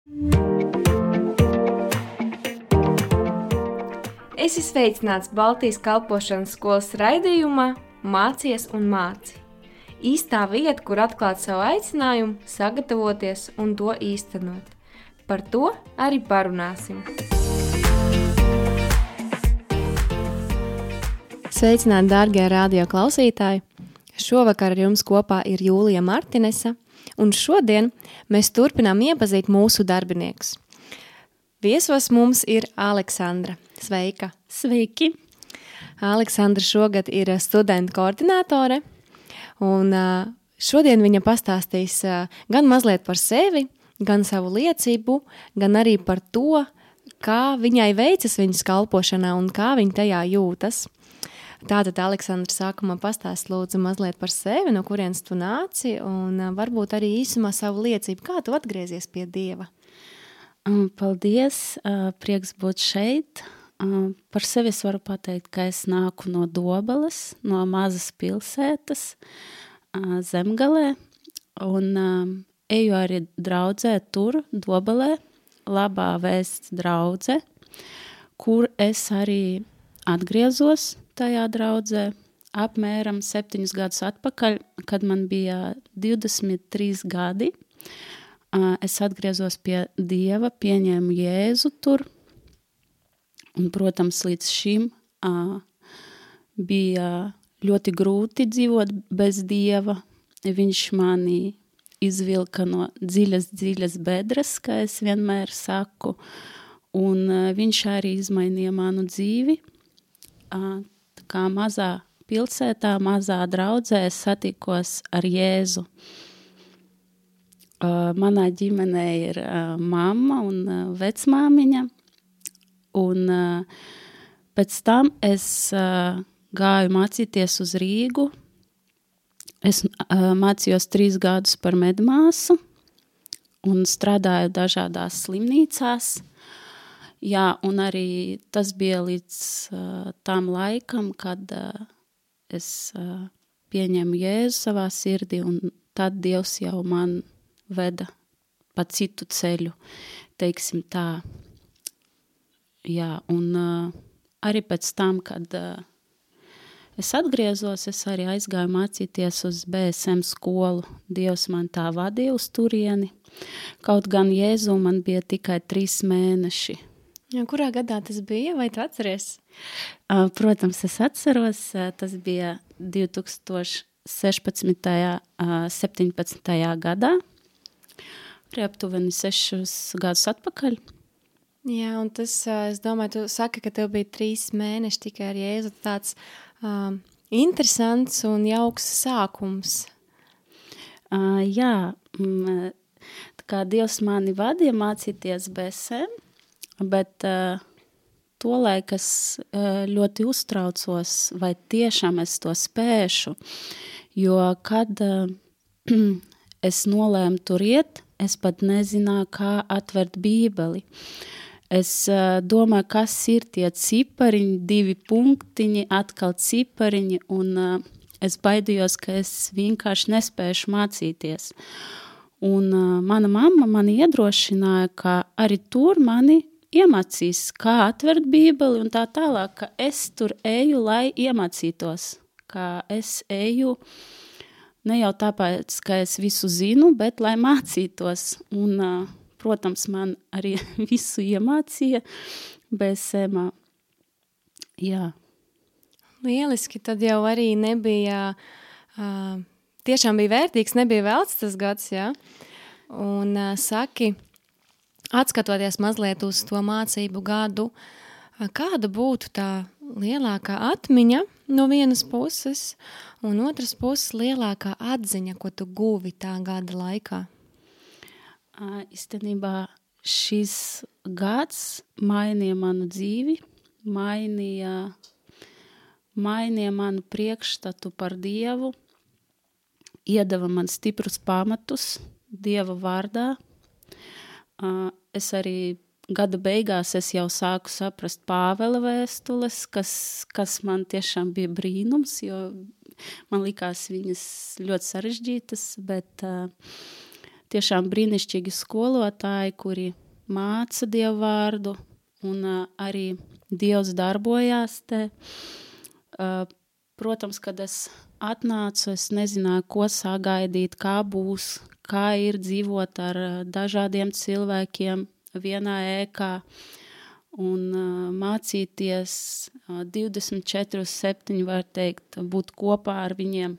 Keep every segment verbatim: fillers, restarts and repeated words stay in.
Esi sveicināts Baltijas kalpošanas skolas raidījumā Mācies un māci. Īstā vieta, kur atklāt savu aicinājumu, sagatavoties un to īstenot. Par to arī parunāsim. Sveicināti, dārgie radio klausītāji! Šovakar ar jums kopā ir Jūlija Martinesa, un šodien mēs turpinām iepazīt mūsu darbiniekus. Viesos mums ir Aleksandra. Sveika! Sveiki! Aleksandra šogad ir studentu koordinātore, un šodien viņa pastāstīs gan mazliet par sevi, gan savu liecību, gan arī par to, kā viņai veicas viņas kalpošanā un kā viņa tajā jūtas. Tātad, Aleksandra, sākumā pastāst lūdzu mazliet par sevi, no kurienes tu nāci, un varbūt arī īsumā savu liecību. Kā tu atgriezies pie Dieva? Paldies, prieks būt šeit. Par sevi es varu pateikt, ka es nāku no Dobeles, no mazas pilsētas Zemgalē, un eju arī draudzē tur, Dobelē, Labā vēsts draudze, kur es arī atgriezos tajā draudzē apmēram septiņus gadus atpakaļ, kad man bija divdesmit trīs gadi. Es atgriezos pie Dieva, pieņēmu Jēzu tur, un, protams, līdz šim uh, bija ļoti grūti dzīvot bez Dieva. Viņš mani izvilka no dziļas, dziļas bedres, kā es vienmēr saku, un uh, viņš arī izmainīja manu dzīvi. Uh, tā kā mazā pilsētā, mazā draudzē es satikos ar Jēzu. Uh, manā ģimenē ir uh, mamma un uh, vecmāmiņa, un uh, pēc tam es uh, gāju mācīties uz Rīgu. Es uh, mācījos trīs gadus par medmāsu un strādāju dažādās slimnīcās. Jā, un arī tas bija līdz uh, tam laikam, kad uh, es uh, pieņemu Jēzu savā sirdī, un tad Dievs jau man veda pa citu ceļu, teiksim tā. Jā, un uh, arī pēc tam, kad uh, es atgriezos, es arī aizgāju mācīties uz B S M skolu. Dievs man tā vadīja uz turieni. Kaut gan Jēzu man bija tikai trīs mēneši. Ja, kurā gadā tas bija, vai tu atceries? Uh, protams, es atceros, uh, tas bija divi tūkstoši sešpadsmitajā. Uh, septiņpadsmitajā gadā. Aptuveni sešus gadus atpakaļ. Jā, un tas, es domāju, tu saki, ka tev bija trīs mēneši tikai ar Jēzu, tāds um, interesants un jauks sākums. Uh, jā, tā kā Dievs mani vadīja mācīties B S M, bet uh, tolaik es uh, ļoti uztraucos, vai tiešām es to spēšu, jo kad uh, es nolēmu tur iet, es pat nezināju, kā atvert bībeli. Es uh, domāju, kas ir tie cipariņi, divi punktiņi, atkal cipariņi, un uh, es baidījos, ka es vienkārši nespēšu mācīties. Un uh, mana mamma mani iedrošināja, ka arī tur mani iemācīs, kā atvert bībeli un tā tālāk, ka es tur eju, lai iemācītos, ka es eju ne jau tāpēc, ka es visu zinu, bet lai mācītos. Un, protams, man arī visu iemācīja B S M. Jā. Lieliski, tad jau arī nebija, uh, tiešām bija vērtīgs, nebija velts tas gads, jā. Un uh, saki, atskatoties mazliet uz to mācību gadu, uh, kāda būtu tā lielākā atmiņa no vienas puses, un otras puses lielākā atziņa, ko tu guvi tā gada laikā? Īstenībā šis gads mainīja manu dzīvi, mainīja, mainīja manu priekšstatu par Dievu, iedeva man stiprus pamatus Dieva vārdā. Es arī gada beigās es jau sāku saprast Pāvela vēstules, kas, kas man tiešām bija brīnums, jo man likās viņas ļoti sarežģītas, bet uh, tiešām brīnišķīgi skolotāji, kuri māca Dievu vārdu, un uh, arī Dievs darbojās te. Uh, protams, kad es atnācu, es nezināju, ko sagaidīt, kā būs, kā ir dzīvot ar uh, dažādiem cilvēkiem vienā ēkā un uh, mācīties uh, divdesmit četri septiņi, var teikt, būt kopā ar viņiem.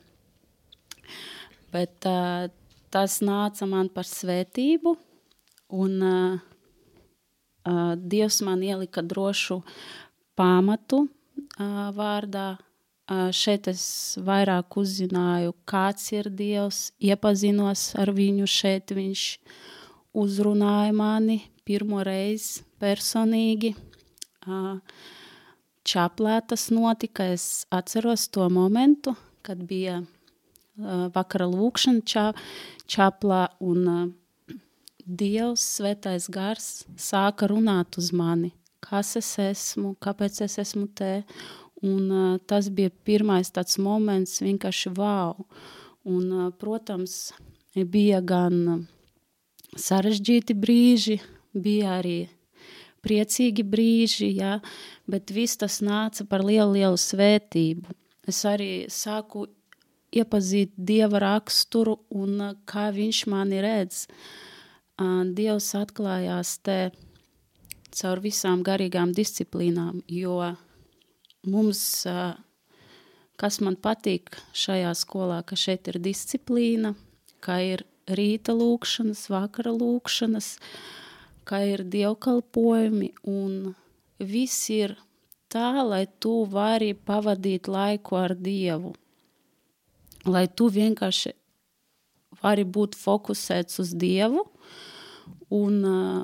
Bet uh, tas nāca man par svētību, un uh, uh, Dievs man ielika drošu pamatu uh, vārdā. Uh, šeit es vairāk uzzināju, kāds ir Dievs, iepazinos ar viņu, šeit viņš uzrunāja mani pirmo reizi personīgi. Uh, Čaplē tas notika, es atceros to momentu, kad bija uh, vakara lūkšana ča, čaplā, un uh, Dievs, svētais gars, sāka runāt uz mani, kas es esmu, kāpēc es esmu te. Un uh, tas bija pirmais tāds moments, vienkārši vau. Un, uh, protams, bija gan sarežģīti brīži, bija arī priecīgi brīži, jā, bet viss tas nāca par lielu, lielu svētību. Es arī sāku iepazīt Dieva raksturu un uh, kā viņš mani redz. Uh, Dievs atklājās te caur visām garīgām disciplīnām, jo mums, kas man patīk šajā skolā, ka šeit ir disciplīna, ka ir rīta lūkšanas, vakara lūkšanas, ka ir dievkalpojumi, un viss ir tā, lai tu vari pavadīt laiku ar Dievu, lai tu vienkārši vari būt fokusēts uz Dievu, un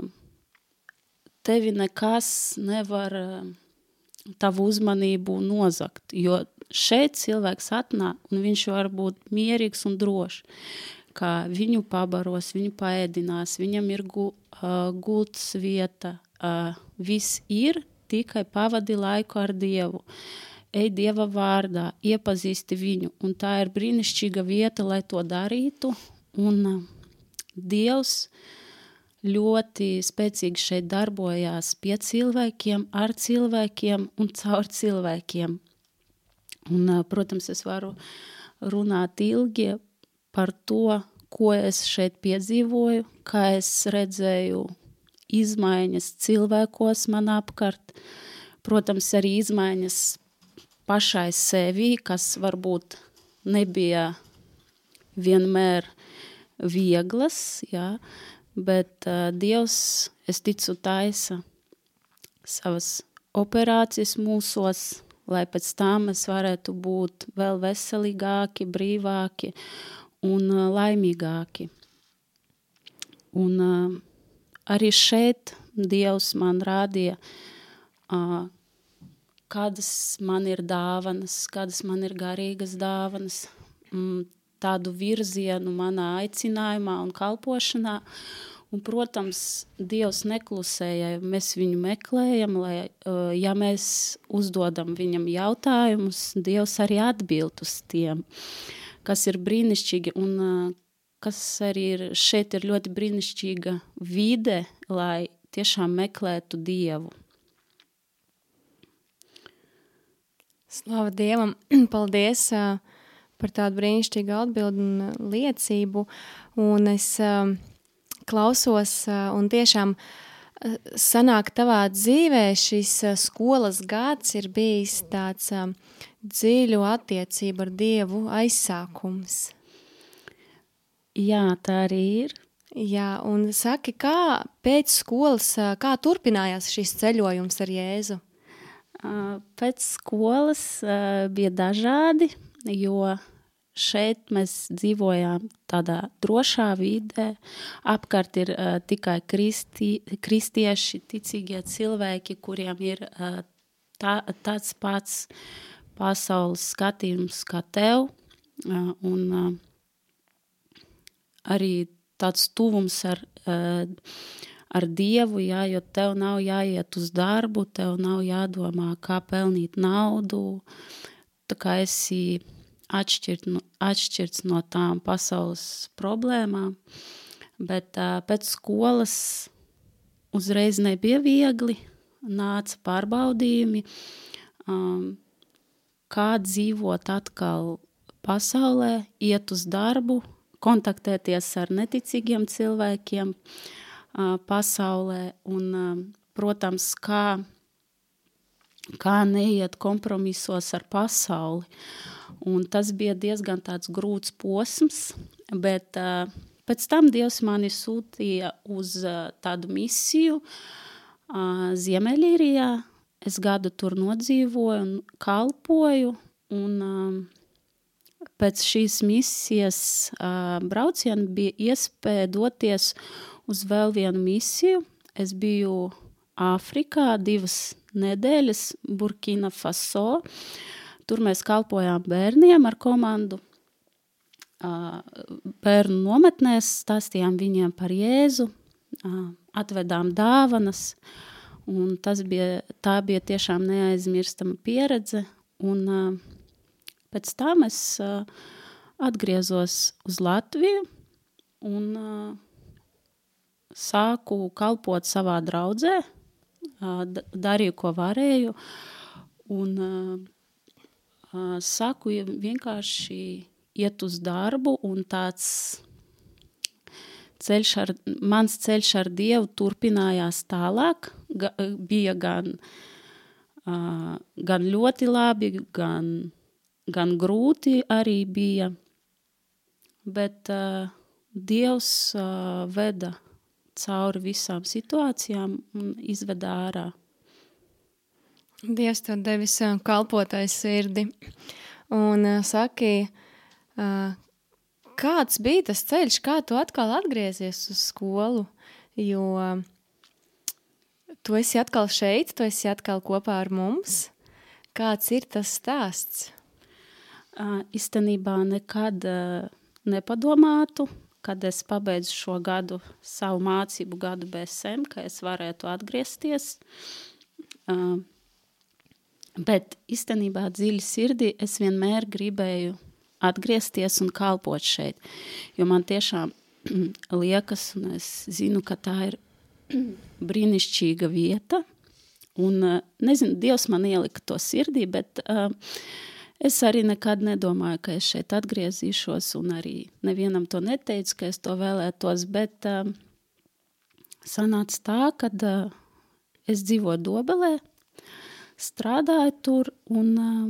tevi nekas nevar tavu uzmanību nozakt, jo šeit cilvēks atnāk, un viņš var būt mierīgs un drošs, ka viņu pabaros, viņu paēdinās, viņam ir gu, uh, gultas vieta, uh, viss ir, tikai pavadi laiku ar Dievu. Ej Dieva vārdā, iepazīsti viņu, un tā ir brīnišķīga vieta, lai to darītu, un uh, Dievs ļoti spēcīgi šeit darbojās pie cilvēkiem, ar cilvēkiem un caur cilvēkiem. Un, protams, es varu runāt ilgi par to, ko es šeit piedzīvoju, kā es redzēju izmaiņas cilvēkos man apkārt. Protams, arī izmaiņas pašai sevī, kas varbūt nebija vienmēr vieglas, jā, bet uh, Dievs, es ticu, taisa savas operācijas mūsos, lai pēc tam mēs varētu būt vēl veselīgāki, brīvāki un uh, laimīgāki. Un uh, arī šeit Dievs man rādīja, uh, kādas man ir dāvanas, kādas man ir garīgas dāvanas, mm, tādu virzienu manā aicinājumā un kalpošanā. Un, protams, Dievs neklusēja, mēs viņu meklējam, lai, ja mēs uzdodam viņam jautājumus, Dievs arī atbild uz tiem, kas ir brīnišķīgi, un kas arī ir, šeit ir ļoti brīnišķīga vide, lai tiešām meklētu Dievu. Slava Dievam, paldies par tādu brīnišķīgu atbildi un liecību, un es uh, klausos uh, un tiešām uh, sanāk tavā dzīvē šis uh, skolas gads ir bijis tāds uh, dziļu attiecību ar Dievu aizsākums. Jā, tā arī ir. Jā, un saki, kā pēc skolas, uh, kā turpinājās šis ceļojums ar Jēzu? Uh, pēc skolas uh, bija dažādi, jo šeit mēs dzīvojām tādā drošā vidē, apkārt ir uh, tikai kristi, kristieši, ticīgie cilvēki, kuriem ir uh, tā, tāds pats pasaules skatījums kā tev, uh, un uh, arī tāds tuvums ar, uh, ar Dievu, jā, jo tev nav jāiet uz darbu, tev nav jādomā, kā pelnīt naudu, tā kā esi atšķirt, atšķirts no tām pasaules problēmām, bet uh, pēc skolas uzreiz nebija viegli, nāca pārbaudījumi, um, kā dzīvot atkal pasaulē, iet uz darbu, kontaktēties ar neticīgiem cilvēkiem uh, pasaulē un, uh, protams, kā, kā neiet kompromisos ar pasauli. Un tas bija diezgan tāds grūts posms, bet uh, pēc tam Dievs mani sūtīja uz uh, tādu misiju uh, Ziemeļīrijā. Es gadu tur nodzīvoju un kalpoju, un uh, pēc šīs misijas uh, brauciena bija iespēja doties uz vēl vienu misiju. Es biju Āfrikā divas nedēļas, Burkina Faso. Tur mēs kalpojām bērniem ar komandu. Bērnu nometnēs, stāstījām viņiem par Jēzu, atvedām dāvanas, un tas bija, tā bija tiešām neaizmirstama pieredze. Un pēc tam es atgriezos uz Latviju un sāku kalpot savā draudzē, darīju, ko varēju, un saku vienkārši iet uz darbu, un tāds ceļš ar, mans ceļš ar Dievu turpinājās tālāk. Ga, bija gan, uh, gan ļoti labi, gan, gan grūti arī bija, bet uh, Dievs uh, veda cauri visām situācijām un izveda ārā. Dievs tev devis kalpotais sirdi un uh, saki, uh, kāds bija tas ceļš, kā tu atkal atgriezies uz skolu, jo uh, tu esi atkal šeit, tu esi atkal kopā ar mums. Kāds ir tas stāsts? Uh, Īstenībā nekad uh, nepadomātu, kad es pabeidzu šo gadu, savu mācību gadu B S M, ka es varētu atgriezties. Uh, Bet īstenībā dziļi sirdī es vienmēr gribēju atgriezties un kalpot šeit, jo man tiešām liekas, un es zinu, ka tā ir brīnišķīga vieta, un nezinu, Dievs man ielika to sirdī, bet uh, es arī nekad nedomāju, ka es šeit atgriezīšos, un arī nevienam to neteicu, ka es to vēlētos, bet uh, sanāca tā, kad uh, es dzīvoju Dobelē, strādāju tur un um,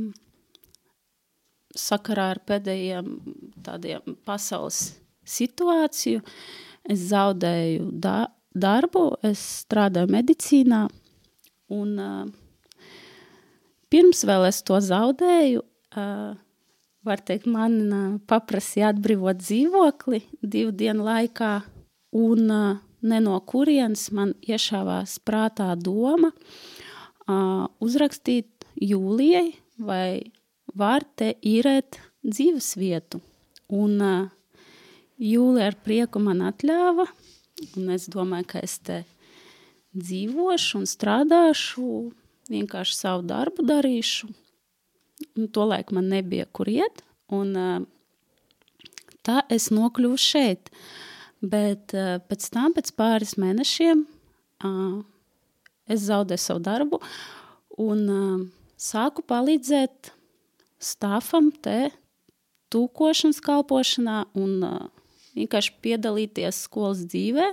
sakarā ar pēdējiem tādiem pasaules situāciju. Es zaudēju da- darbu, es strādāju medicīnā un uh, pirms vēl es to zaudēju, uh, var teikt, man uh, paprasīja atbrīvot dzīvokli divu dienu laikā un uh, ne no kurienes man iešāvās prātā doma, Uh, uzrakstīt Jūlijai, vai var te īrēt dzīves vietu. Un uh, Jūlija ar prieku man atļāva, un es domāju, ka es te dzīvošu un strādāšu, vienkārši savu darbu darīšu. Un tolaik man nebija kur iet, un uh, tā es nokļuvu šeit. Bet uh, pēc tam, pēc pāris mēnešiem, uh, es zaudēju savu darbu un uh, sāku palīdzēt stāfam te tūkošanas kalpošanā un uh, vienkārši piedalīties skolas dzīvē.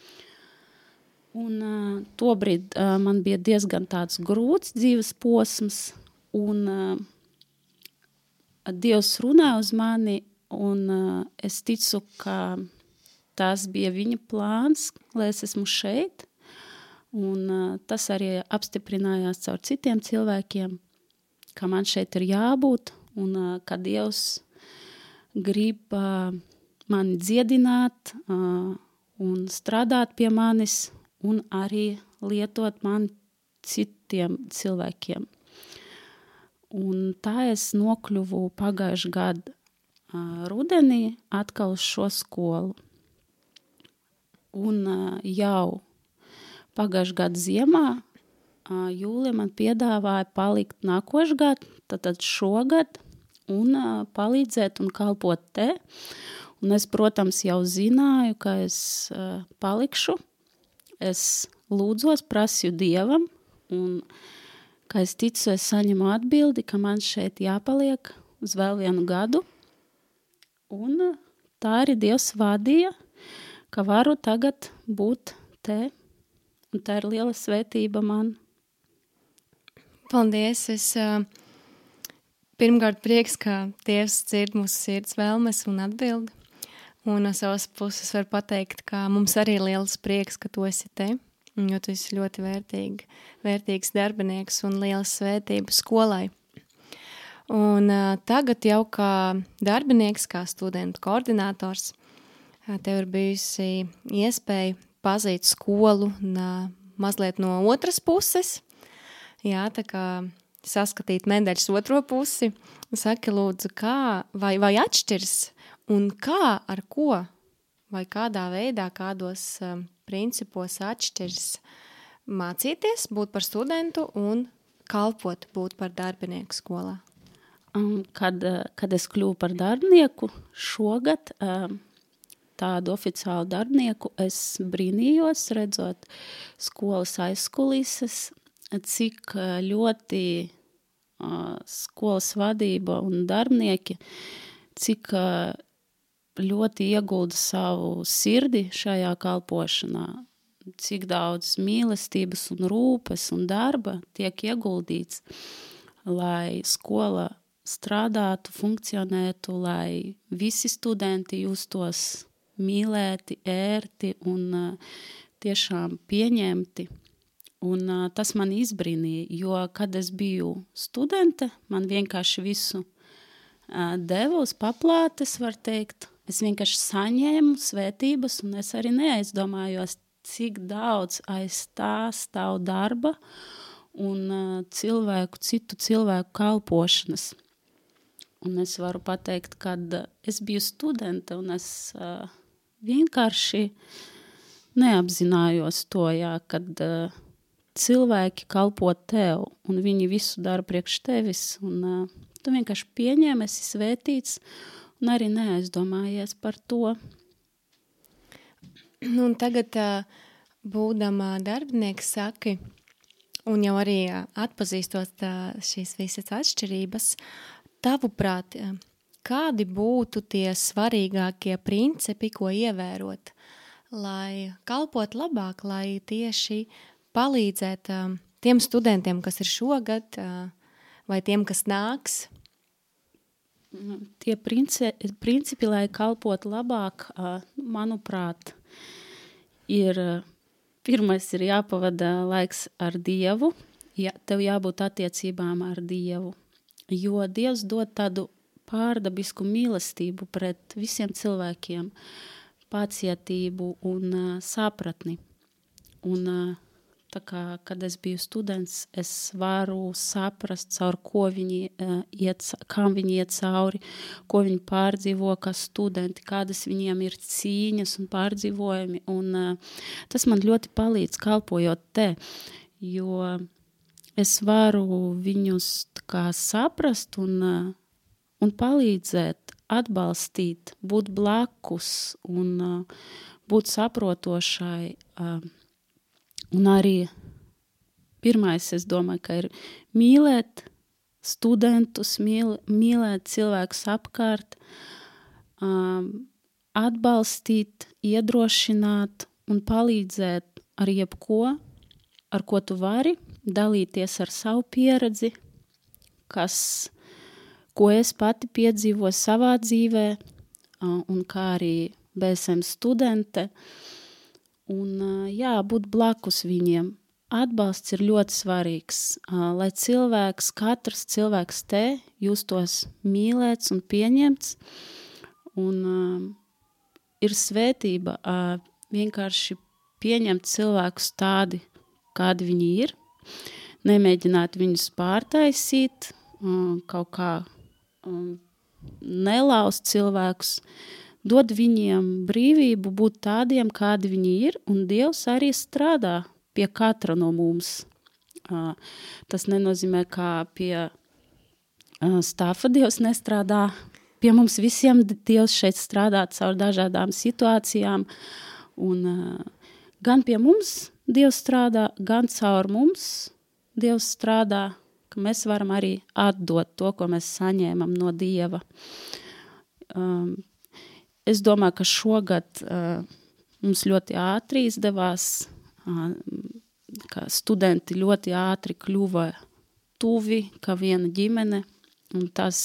Un uh, tobrīd uh, man bija diezgan tāds grūts dzīves posms un uh, Dievs runāja uz mani un uh, es ticu, ka tas bija viņa plāns, lai es esmu šeit. Un uh, tas arī apstiprinājās caur citiem cilvēkiem, ka man šeit ir jābūt un uh, ka Dievs grib uh, mani dziedināt uh, un strādāt pie manis un arī lietot mani citiem cilvēkiem. Un tā es nokļuvu pagājuši gadu uh, rudenī atkal uz šo skolu. Un uh, jau pagājušā gada ziemā Jūlija man piedāvāja palikt nākošgad, tātad šogad, un palīdzēt un kalpot te. Un es, protams, jau zināju, ka es uh, palikšu. Es lūdzos, prasīju Dievam, un, kā es ticu, es saņemu atbildi, ka man šeit jāpaliek uz vēl vienu gadu. Un tā arī Dievs vadīja, ka varu tagad būt te, un tā ir liela svētība man. Paldies! Es uh, pirmkārt prieks, ka Dievs dzird mūsu sirds vēlmes un atbildi. Un no savas puses var pateikt, ka mums arī ir liels prieks, ka tu esi te, jo tu esi ļoti vērtīgi, vērtīgs darbinieks un liela svētība skolai. Un uh, tagad jau kā darbinieks, kā studentu koordinators, uh, tev ir bijusi iespēja pazīt skolu un, uh, mazliet no otras puses. Jā, tā kā saskatīt medaļas otro pusi. Saki, lūdzu, kā vai, vai atšķirs un kā, ar ko, vai kādā veidā, kādos um, principos atšķirs mācīties, būt par studentu un kalpot, būt par darbinieku skolā? Um, kad, kad es kļuvu par darbinieku šogad, um, tādu oficiālu darbinieku, es brīnījos, redzot skolas aizkulises, cik ļoti uh, skolas vadība un darbinieki, cik uh, ļoti iegulda savu sirdi šajā kalpošanā, cik daudz mīlestības un rūpes un darba tiek ieguldīts, lai skola strādātu, funkcionētu, lai visi studenti justos mīlēti, ērti un uh, tiešām pieņemti. Un uh, tas man izbrīnīja, jo, kad es biju studente, man vienkārši visu uh, deva uz paplātes, var teikt. Es vienkārši saņēmu svētības, un es arī neaizdomājos, cik daudz aiz tā stāv darba un uh, cilvēku, citu cilvēku kalpošanas. Un es varu pateikt, kad es biju studente, un es uh, vienkārši neapzinājos to, jā, kad uh, cilvēki kalpo tev, un viņi visu dara priekš tevis, un uh, tu vienkārši pieņēmi, esi svētīts, un arī neaizdomājies par to. Un tagad, būdama darbinieks, saki, un jau arī atpazīstot šīs visas atšķirības, tavuprāt, kādi būtu tie svarīgākie principi, ko ievērot, lai kalpot labāk, lai tieši palīdzēt tiem studentiem, kas ir šogad, vai tiem, kas nāks? Tie principi, principi, lai kalpot labāk, manuprāt, ir pirmais ir jāpavada laiks ar Dievu, ja, tev jābūt attiecībām ar Dievu, jo Dievs dod tādu pārdabisku mīlestību pret visiem cilvēkiem, pacietību un uh, sapratni. Un uh, tā kā, kad es biju students, es varu saprast, caur ko viņi, uh, iet, kam viņi iet cauri, ko viņi pārdzīvo kā studenti, kādas viņiem ir cīņas un pārdzīvojumi. Un, uh, tas man ļoti palīdz kalpojot te, jo es varu viņus tā kā saprast un, uh, un palīdzēt, atbalstīt, būt blakus un uh, būt saprotošai. Uh, Un arī pirmais, es domāju, ka ir mīlēt studentus, mīl, mīlēt cilvēkus apkārt, um, atbalstīt, iedrošināt un palīdzēt ar jebko, ar ko tu vari, dalīties ar savu pieredzi, kas, ko es pati piedzīvoju savā dzīvē, uh, un kā arī B S M studente. Un, jā, būt blakus viņiem. Atbalsts ir ļoti svarīgs, lai cilvēks, katrs cilvēks te justos mīlēts un pieņemts. Un uh, ir svētība uh, vienkārši pieņemt cilvēkus tādi, kādi viņi ir, nemēģināt viņus pārtaisīt, uh, kaut kā um, nelaust cilvēkus, dod viņiem brīvību būt tādiem, kādi viņi ir, un Dievs arī strādā pie katra no mums. Uh, tas nenozīmē, kā pie uh, stāfa Dievs nestrādā pie mums visiem Dievs šeit strādā caur dažādām situācijām, un uh, gan pie mums Dievs strādā, gan caur mums Dievs strādā, ka mēs varam arī atdot to, ko mēs saņēmam no Dieva. Um, es domāju, ka šogad uh, mums ļoti ātri izdevās, uh, ka studenti ļoti ātri kļuva tuvi, kā viena ģimene, un tas,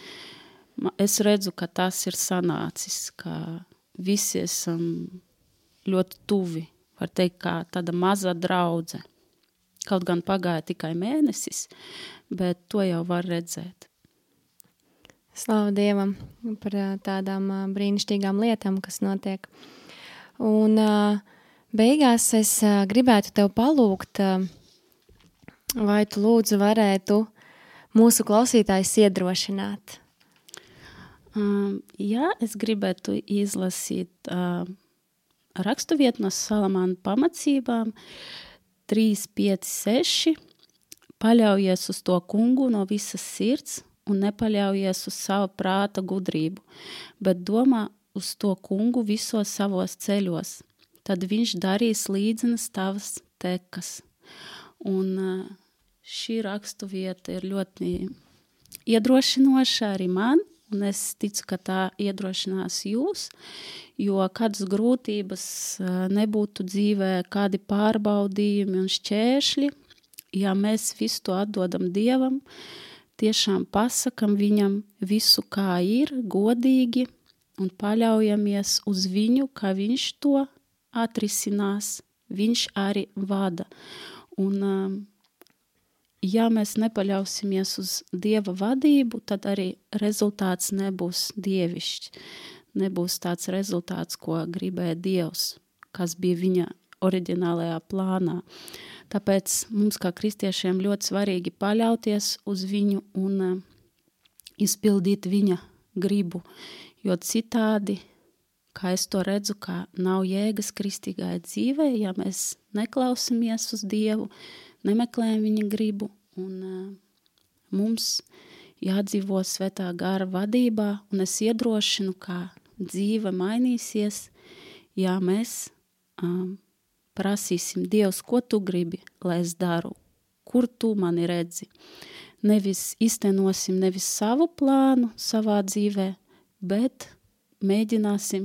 es redzu, ka tas ir sanācis, ka visi esam ļoti tuvi, var teikt, kā tāda maza draudze. Kaut gan pagāja tikai mēnesis, bet to jau var redzēt. Slavu Dievam par tādām brīnišķīgām lietām, kas notiek. Un beigās es gribētu tev palūgt, vai tu lūdzu varētu mūsu klausītājus iedrošināt? Um, jā, es gribētu izlasīt uh, rakstuvietu no Salamāna pamacībām, trīs, pieci, seši. Paļaujies uz to kungu no visas sirds un nepaļaujies uz savu prāta gudrību, bet domā uz to kungu visos savos ceļos. Tad viņš darīs līdzenas tavas tekas. Un šī rakstuvieta ir ļoti iedrošinoša arī man, un es ticu, ka tā iedrošinās jūs, jo kādas grūtības nebūtu dzīvē, kādi pārbaudījumi un šķēršļi, ja mēs visu to atdodam Dievam, tiešām pasakam viņam visu, kā ir, godīgi, un paļaujamies uz viņu, kā viņš to atrisinās, viņš arī vada. Un ja mēs nepaļausimies uz Dieva vadību, tad arī rezultāts nebūs dievišķs. Nebūs tāds rezultāts, ko gribēja Dievs, kas bija viņa oriģinālajā plānā. Tāpēc mums kā kristiešiem ļoti svarīgi paļauties uz viņu un uh, izpildīt viņa gribu, jo citādi, kā es to redzu, kā nav jēgas kristīgai dzīvē, ja mēs neklausamies uz Dievu, nemeklējam viņa gribu, un uh, mums jādzīvo svētā gara vadībā, un es iedrošinu, kā dzīve mainīsies, ja mēs um, prasīsim Dievs, ko tu gribi, lai es daru, kur tu mani redzi. Nevis iztenosim nevis savu plānu savā dzīvē, bet mēģināsim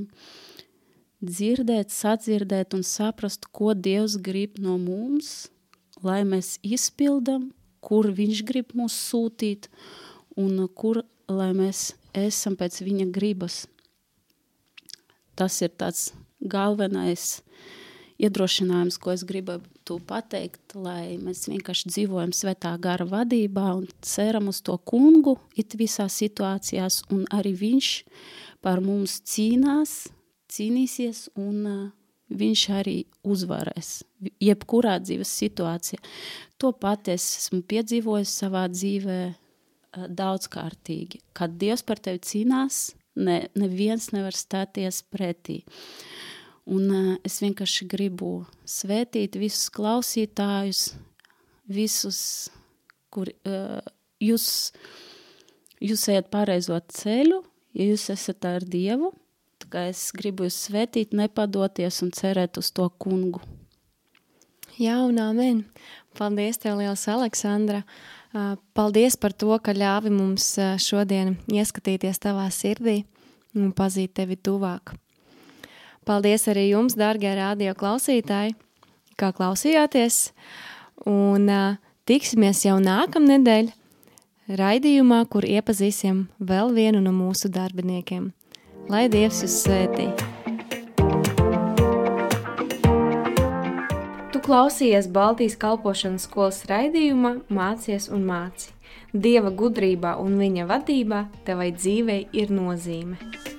dzirdēt, sadzirdēt un saprast, ko Dievs grib no mums, lai mēs izpildam, kur viņš grib mūs sūtīt un kur, lai mēs esam pēc viņa gribas. Tas ir tāds galvenais iedrošinājums, ko es gribētu pateikt, lai mēs vienkārši dzīvojam svētā gara vadībā un ceram uz to kungu it visās situācijās, un arī viņš par mums cīnās, cīnīsies, un uh, viņš arī uzvarēs jebkurā dzīves situācijā. To pat es esmu piedzīvojis savā dzīvē uh, daudzkārtīgi. Kad Dievs par tevi cīnās, ne, neviens nevar stāties pretī. Un uh, es vienkārši gribu svētīt visus klausītājus, visus, kur uh, jūs, jūs ejat pareizo ceļu, ja jūs esat ar Dievu, tā kā es gribu jūs svētīt, nepadoties un cerēt uz to kungu. Jā, un amen. Paldies tev liels, Aleksandra. Paldies par to, ka ļāvi mums šodien ieskatīties tavā sirdī un pazīt tevi tuvāk. Paldies arī jums, dārgie radio klausītāji, kā klausījāties, un tiksimies jau nākamnedēļ raidījumā, kur iepazīsim vēl vienu no mūsu darbiniekiem. Lai Dievs jūs svētī! Tu klausījies Baltijas kalpošanas skolas raidījumā Mācies un māci. Dieva gudrībā un viņa vadībā tevai dzīvei ir nozīme.